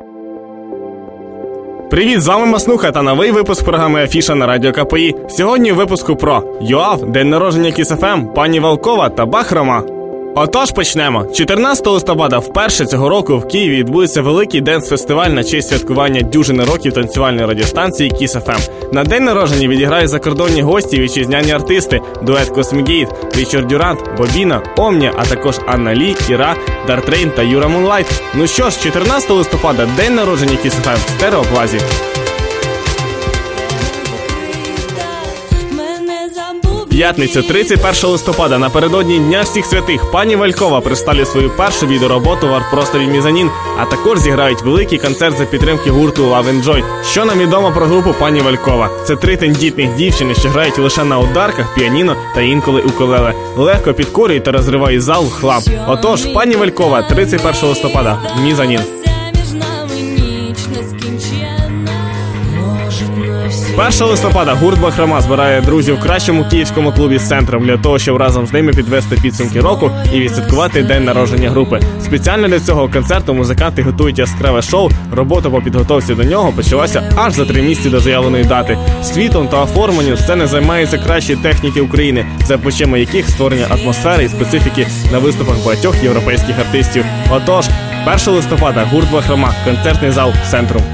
Привіт, з вами Маснуха та новий випуск програми Афіша на Радіо КПІ. Сьогодні в випуску про ЮАВ, день народження Kiss FM, пані Волкова та Бах-Рома. Отож, почнемо. 14 листопада вперше цього року в Києві відбудеться великий денс-фестиваль на честь святкування дюжини років танцювальної радіостанції Kiss FM. На день народження відіграють закордонні гості, вітчизняні артисти, дует Космігейт, Річард Дюрант, Бобіна, Омня, а також Анна Лі, Кіра, Дартрейн та Юра Мунлайт. Ну що ж, 14 листопада день народження Kiss FM в Стереоплазі. П'ятницю, 31 листопада, напередодні Дня всіх святих, пані Волкова представлять свою першу відеороботу в арт-просторі Мізанін, а також зіграють великий концерт за підтримки гурту Love and Joy. Що нам відомо про групу пані Волкова? Це 3 тендітних дівчини, що грають лише на ударках, піаніно та інколи укулеле. Легко підкорюють та розривають зал в хлам. Отож, пані Волкова, 31 листопада, Мізанін. 1 листопада гурт Бах-Рома збирає друзів в кращому київському клубі з центром для того, щоб разом з ними підвести підсумки року і відсвяткувати день народження групи. Спеціально для цього концерту музиканти готують яскраве шоу. Робота по підготовці до нього почалася аж за 3 місяці до заявленої дати. Світом та оформленням сцени займаються кращі техніки України, за плечима яких створення атмосфери і специфіки на виступах багатьох європейських артистів. Отож, 1 листопада гурт Бах-Рома, концертний зал «Центрум».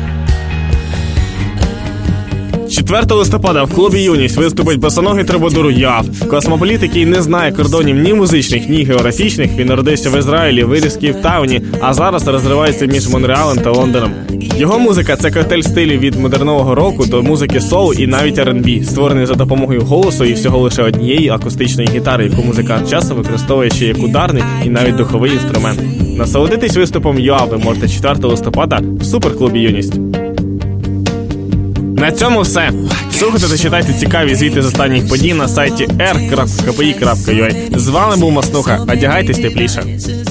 4 листопада в клубі «Юність» виступить босоногий трубадур ЮАВ. Космополіт, який не знає кордонів ні музичних, ні географічних. Він народився в Ізраїлі, виріс в Кейптауні, а зараз розривається між Монреалем та Лондоном. Його музика – це коктейль стилів від модернового року до музики соул і навіть R&B, створений за допомогою голосу і всього лише однієї акустичної гітари, яку музикант часто використовує ще як ударний і навіть духовий інструмент. Насолодитись виступом ЮАВ ви можете 4 листопада в суперклубі «Юність». На цьому все. Слухайте та читайте цікаві звіти з останніх подій на сайті r.kpi.ua. З вами був Маснуха. Одягайтесь тепліше.